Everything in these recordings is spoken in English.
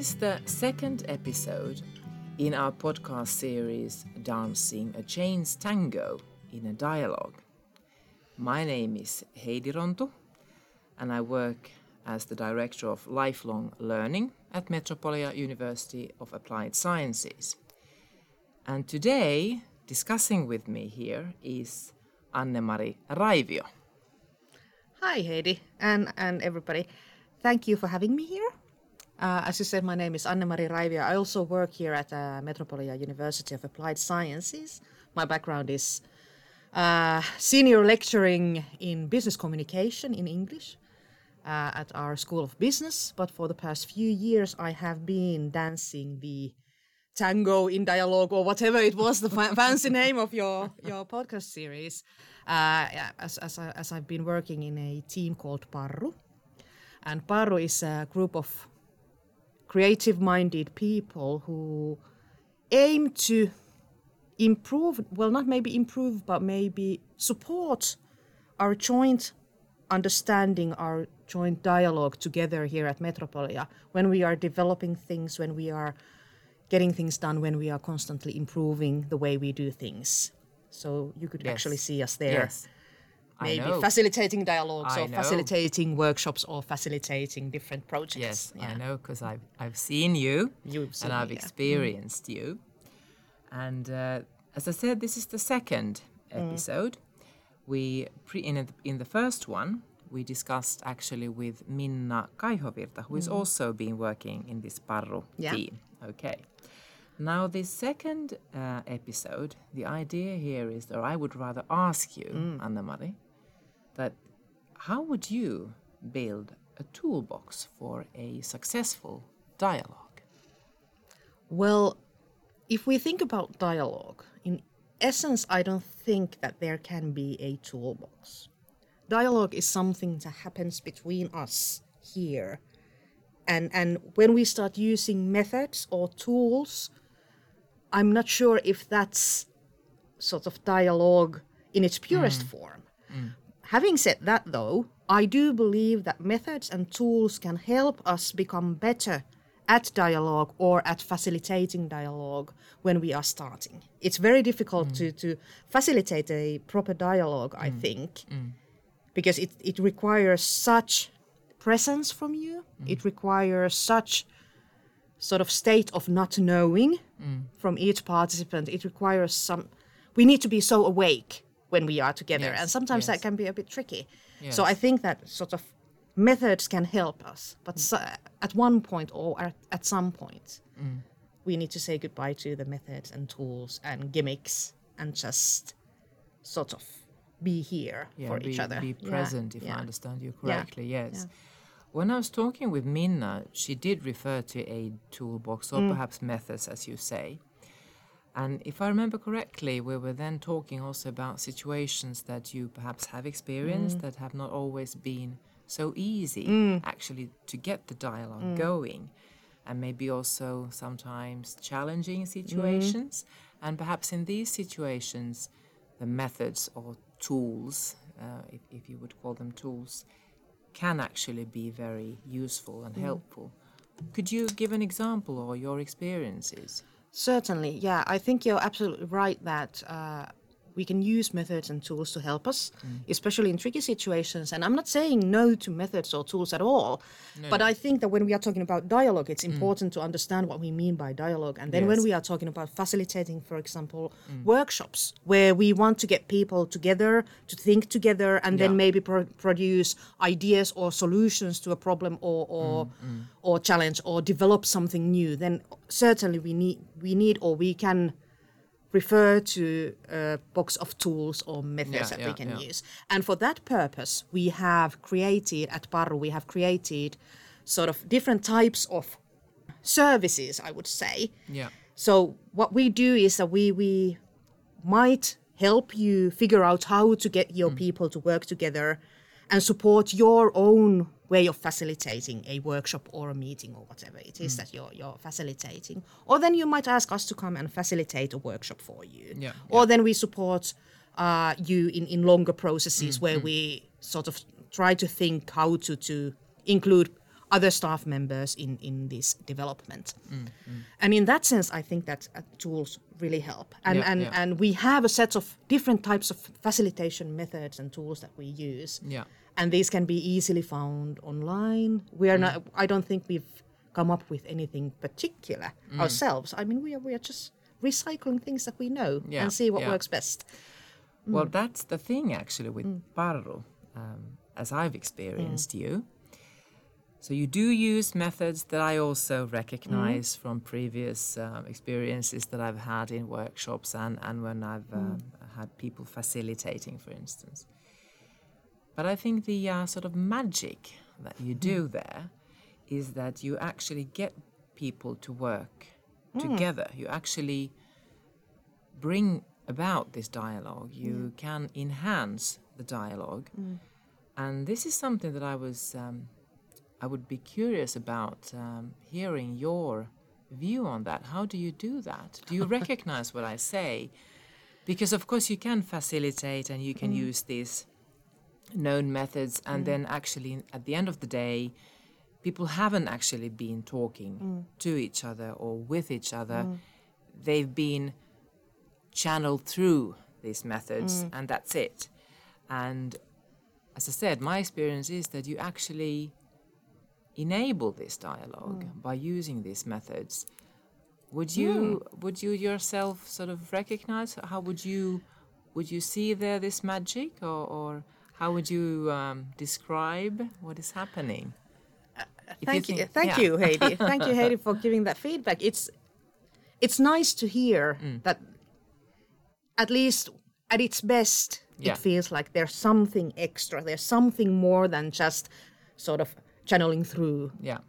is the second episode in our podcast series Dancing a Chains Tango in a Dialogue. My name is Heidi Rontu and I work as the Director of Lifelong Learning at Metropolia University of Applied Sciences. And today, discussing with me here is Anne-Mari Raivio. Hi Heidi and everybody. Thank you for having me here. As you said, my name is Anne-Mari Raivio. I also work here at Metropolia University of Applied Sciences. My background is senior lecturing in business communication in English at our School of Business. But for the past few years, I have been dancing the tango in dialogue, or whatever it was, the fancy name of your podcast series, as I've been working in a team called Parru. And Parru is a group of creative-minded people who aim to improve, well, not maybe improve, but maybe support our joint understanding, our joint dialogue together here at Metropolia when we are developing things, when we are getting things done, when we are constantly improving the way we do things. So you could actually see us there. Yes. Maybe facilitating dialogues or facilitating workshops or facilitating different projects. Yes, yeah. I know, because I've seen you and I've experienced you. And as I said, this is the second episode. We in the first one, we discussed actually with Minna Kaihovirta, who has also been working in this Parru team. Okay. Now, this second episode, the idea here is, or I would rather ask you, Anne-Mari, that how would you build a toolbox for a successful dialogue? Well, if we think about dialogue, in essence, I don't think that there can be a toolbox. Dialogue is something that happens between us here. And when we start using methods or tools, I'm not sure if that's sort of dialogue in its purest form. Having said that, though, I do believe that methods and tools can help us become better at dialogue or at facilitating dialogue when we are starting. It's very difficult to facilitate a proper dialogue, I think, because it requires such presence from you. It requires such sort of state of not knowing from each participant. It requires we need to be so awake when we are together, and sometimes that can be a bit tricky. So I think that sort of methods can help us, but at one point or at some point, we need to say goodbye to the methods and tools and gimmicks and just sort of be here for each other. Be present, if I understand you correctly, yes. When I was talking with Minna, she did refer to a toolbox or perhaps methods, as you say. And if I remember correctly, we were then talking also about situations that you perhaps have experienced that have not always been so easy actually to get the dialogue going. And maybe also sometimes challenging situations. And perhaps in these situations, the methods or tools, if you would call them tools, can actually be very useful and helpful. Could you give an example or your experiences? Certainly, yeah. I think you're absolutely right that we can use methods and tools to help us, especially in tricky situations. And I'm not saying no to methods or tools at all, but I think that when we are talking about dialogue, it's important to understand what we mean by dialogue. And then when we are talking about facilitating, for example, workshops, where we want to get people together, to think together, and then maybe produce ideas or solutions to a problem or challenge or develop something new, then certainly we can refer to a box of tools or methods that we can use. And for that purpose, we have created, at Parru, we have created sort of different types of services, I would say. Yeah. So what we do is that we might help you figure out how to get your people to work together and support your own way of facilitating a workshop or a meeting or whatever it is that you're facilitating. Or then you might ask us to come and facilitate a workshop for you. Or then we support you in longer processes where we sort of try to think how to include other staff members in this development. And in that sense, I think that tools really help. And we have a set of different types of facilitation methods and tools that we use. Yeah. And these can be easily found online. We are not. I don't think we've come up with anything particular ourselves. I mean, we are just recycling things that we know and see what works best. Well, that's the thing actually with Parru, as I've experienced you. So you do use methods that I also recognize from previous experiences that I've had in workshops and when I've had people facilitating, for instance. But I think the sort of magic that you do there is that you actually get people to work together. You actually bring about this dialogue. You can enhance the dialogue. And this is something that I would be curious about hearing your view on that. How do you do that? Do you recognize what I say? Because of course you can facilitate and you can use these known methods, and then actually at the end of the day, people haven't actually been talking to each other or with each other. They've been channeled through these methods, and that's it. And as I said, my experience is that you actually enable this dialogue by using these methods. Would you yourself sort of recognize? How would you see there this magic, or how would you describe what is happening? Thank you, Heidi. Thank you, Heidi, for giving that feedback. It's nice to hear that at least at its best, it feels like there's something extra. There's something more than just sort of channeling through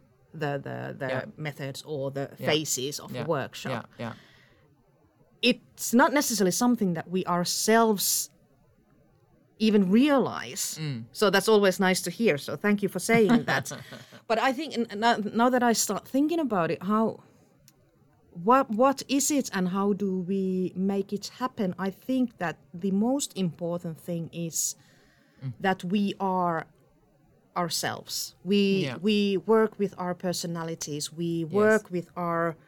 the methods or the phases of the workshop. It's not necessarily something that we ourselves even realize. So that's always nice to hear. So thank you for saying that. But I think now that I start thinking about it, what is it and how do we make it happen? I think that the most important thing is that we are ourselves. We work with our personalities. We work with our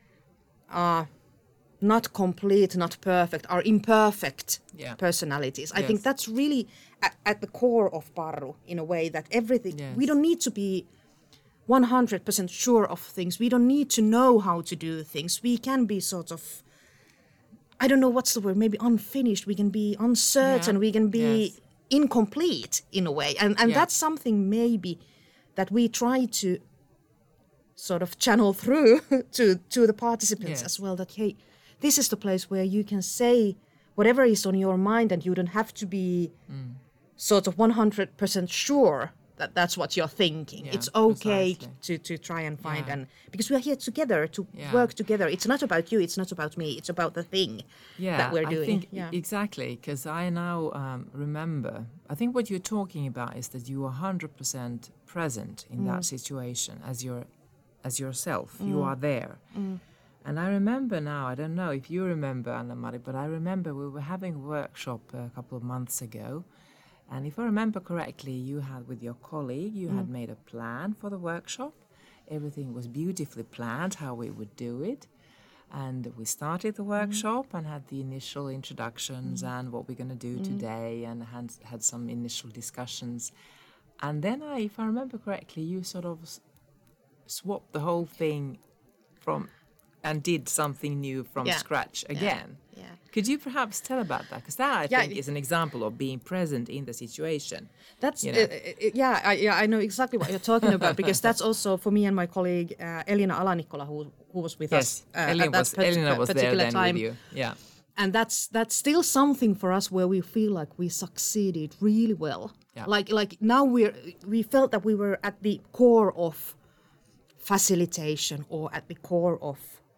not complete, not perfect, our imperfect personalities. I think that's really at the core of Parru, in a way, that everything, we don't need to be 100% sure of things. We don't need to know how to do things. We can be sort of, I don't know what's the word, maybe unfinished. We can be uncertain. We can be incomplete in a way. And that's something maybe that we try to sort of channel through to the participants as well, that, hey, this is the place where you can say whatever is on your mind and you don't have to be sort of 100% sure that that's what you're thinking. It's okay to try and find, and because we are here together to work together. It's not about you, it's not about me, it's about the thing that we're doing. I think exactly, because I now remember, I think what you're talking about is that you are 100% present in that situation as yourself. You are there. And I remember now, I don't know if you remember, Anna-Mari, but I remember we were having a workshop a couple of months ago. And if I remember correctly, you had, with your colleague, you had made a plan for the workshop. Everything was beautifully planned, how we would do it. And we started the workshop and had the initial introductions and what we're going to do today, and had some initial discussions. And then, if I remember correctly, you sort of swapped the whole thing and did something new from scratch again. Could you perhaps tell about that? Because that, I think, is an example of being present in the situation. That's I know exactly what you're talking about, because that's also for me and my colleague Elina Alanikkola, who was with us Elina at that Elina was particular there then time. with you. Yeah. And that's still something for us where we feel like we succeeded really well. Yeah. Like now we felt that we were at the core of facilitation, or at the core of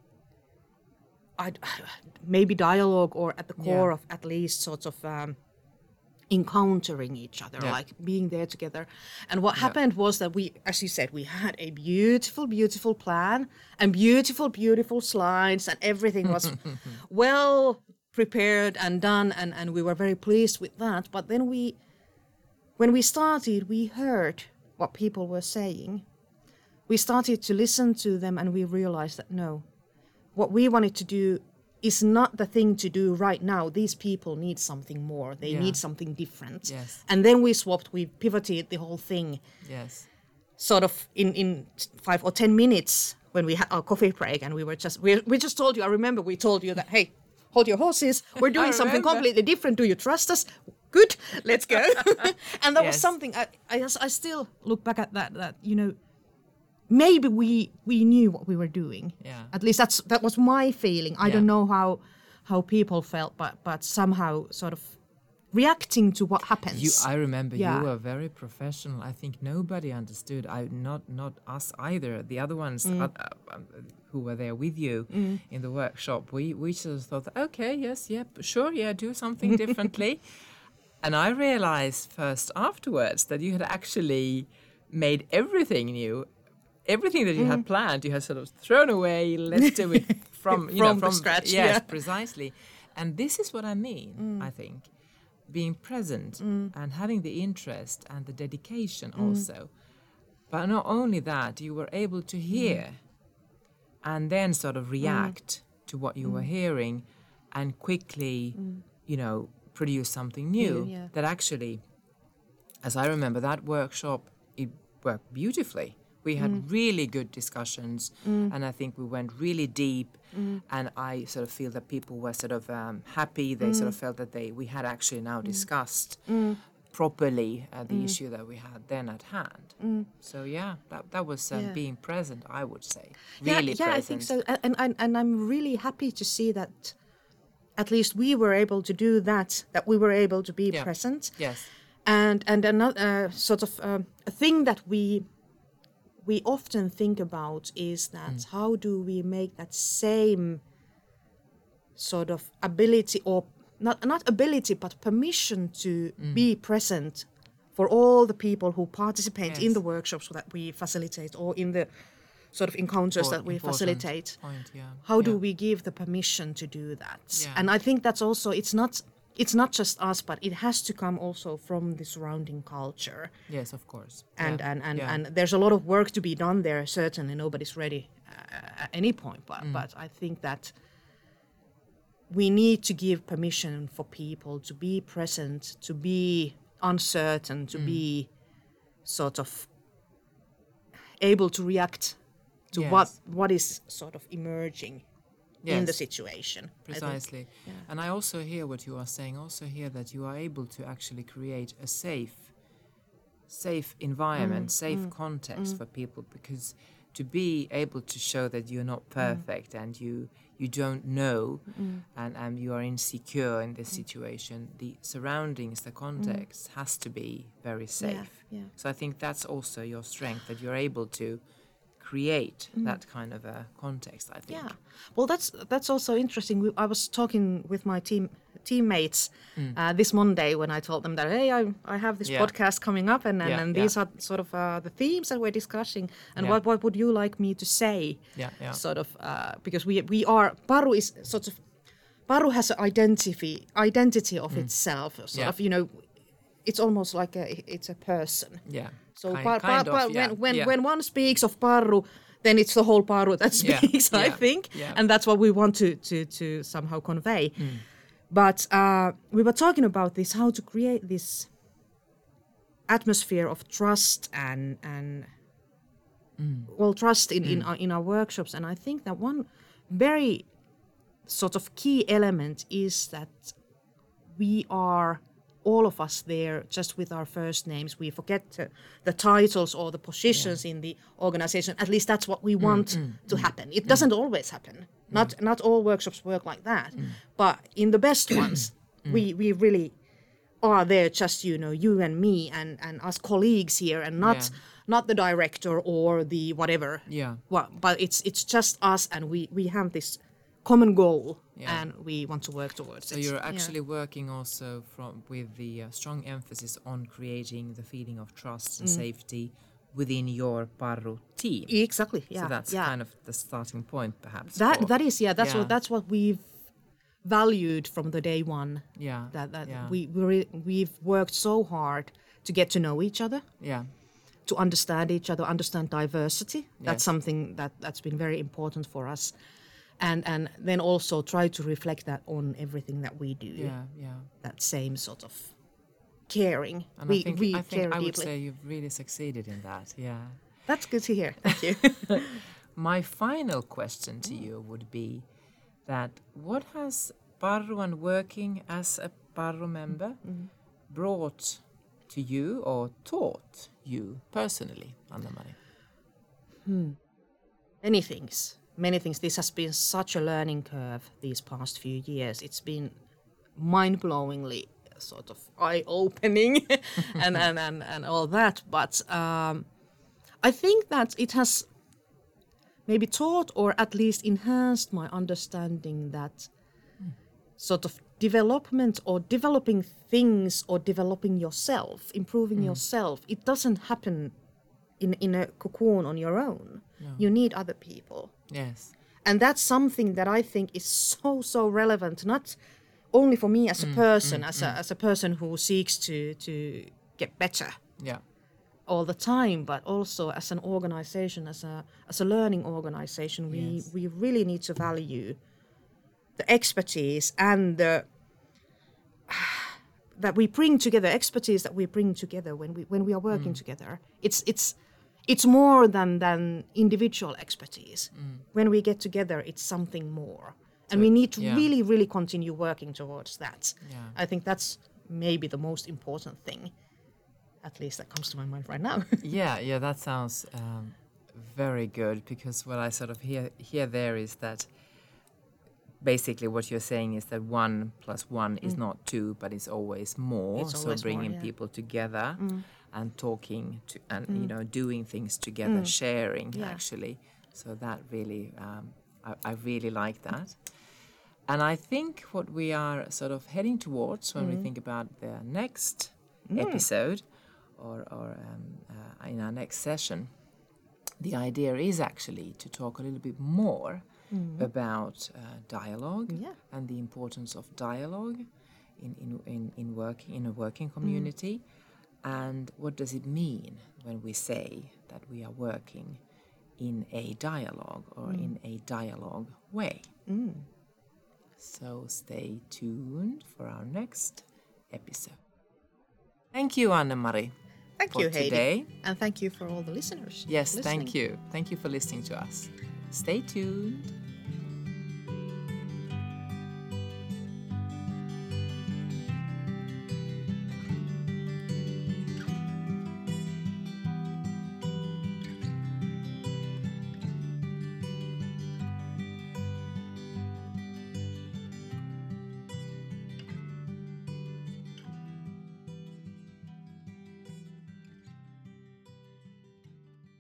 maybe dialogue, or at the core of at least sort of encountering each other, like being there together. And what happened was that we, as you said, we had a beautiful, beautiful plan and beautiful, beautiful slides, and everything was well prepared and done, and we were very pleased with that. But then when we started, we heard what people were saying. we started to listen to them, and we realized that no, what we wanted to do is not the thing to do right now. These people need something more. They need something different. Yes. And then we swapped, we pivoted the whole thing. Yes. Sort of in 5 or 10 minutes when we had our coffee break, and we just told you, I remember we told you that, hey, hold your horses. We're doing something completely different. Do you trust us? Good, let's go. And that was something, I still look back at that, you know, maybe we knew what we were doing. Yeah. At least that was my feeling. I don't know how people felt, but somehow sort of reacting to what happens. I remember you were very professional. I think nobody understood. Not us either. The other ones who were there with you in the workshop, we just thought, okay, yes, sure, do something differently. And I realized first afterwards that you had actually made everything new. Everything that you had planned, you had sort of thrown away. Let's do it from scratch. Yes, precisely. And this is what I mean, I think. Being present and having the interest and the dedication also. But not only that, you were able to hear and then sort of react to what you were hearing and quickly, you know, produce something new that actually, as I remember, that workshop, it worked beautifully. We had really good discussions, and I think we went really deep, and I sort of feel that people were sort of happy. They sort of felt that we had actually now discussed properly the issue that we had then at hand. So that was being present, I would say. Really present. I think so. And I'm really happy to see that at least we were able to do that we were able to be present. Yes. And another sort of a thing that we often think about is that how do we make that same sort of ability, or not ability, but permission to be present for all the people who participate in the workshops that we facilitate, or in the sort of encounters that we facilitate. How do we give the permission to do that? Yeah. And I think that's also, it's not just us, but it has to come also from the surrounding culture. Yes, of course. And there's a lot of work to be done there. Certainly, nobody's ready at any point. But I think that we need to give permission for people to be present, to be uncertain, to be sort of able to react to what is sort of emerging. Yes. In the situation. Precisely. And I also hear what you are saying, also hear that you are able to actually create a safe environment, safe context for people, because to be able to show that you're not perfect and you don't know and you are insecure in this situation, the surroundings, the context has to be very safe. Yeah. So I think that's also your strength, that you're able to create that kind of a context, I think. Yeah, well, that's also interesting. I was talking with my teammates this Monday when I told them that, hey, I have this podcast coming up, and these are sort of the themes that we're discussing, and what would you like me to say? Sort of because we are, Paru is sort of, Paru has an identity of itself, sort of, you know, it's almost like it's a person. Yeah. So when one speaks of Paru, then it's the whole Paru that speaks, I think. Yeah. And that's what we want to somehow convey. But we were talking about this, how to create this atmosphere of trust and trust in our workshops. And I think that one very sort of key element is that we are all of us there just with our first names. We forget the titles or the positions in the organization. At least that's what we want to happen. It doesn't always happen. Not all workshops work like that. But in the best ones, we really are there, just, you know, you and me and us colleagues here, and not the director or the whatever. Yeah. Well, but it's just us, and we have this common goal, and we want to work towards it. So you're actually working also with the strong emphasis on creating the feeling of trust and safety within your Paru team. Exactly. Yeah. So that's kind of the starting point, perhaps. That's what we've valued from the day one. Yeah. We've worked so hard to get to know each other. Yeah. to understand each other, understand diversity. That's Yes. something that's been very important for us. And then also try to reflect that on everything that we do. Yeah, yeah. That same sort of caring. And we I think care I would deeply. say you've really succeeded in that. Yeah. That's good to hear. Thank you. My final question to you would be that what has Parru and working as a Parru member brought to you or taught you personally, Anna-Mari? Many things. This has been such a learning curve these past few years. It's been mind-blowingly sort of eye-opening and all that. But I think that it has maybe taught or at least enhanced my understanding that sort of development or developing things or developing yourself, improving yourself, it doesn't happen in a cocoon on your own. No. You need other people. Yes. And that's something that I think is so relevant, not only for me as a person, as a person who seeks to get better Yeah. all the time, but also as an organization, as a learning organization, Yes. we really need to value the expertise and the that we bring together, expertise that we bring together when we are working together. It's more than individual expertise. When we get together, it's something more. And we need to really continue working towards that. Yeah. I think that's maybe the most important thing, at least that comes to my mind right now. Yeah, that sounds very good, because what I sort of hear there is that basically what you're saying is that 1 + 1 is not 2, but it's always more. It's always bringing more, yeah. people together and talking to, and doing things together, sharing actually. So that really, I really like that. And I think what we are sort of heading towards when we think about the next episode or in our next session, the idea is actually to talk a little bit more about dialogue and the importance of dialogue in a working community, and what does it mean when we say that we are working in a dialogue or in a dialogue way. So stay tuned for our next episode. Thank you, Anna-Mari. Thank you, Heidi. Today. And thank you for all the listeners. Yes, listening. thank you. Thank you for listening to us. Stay tuned.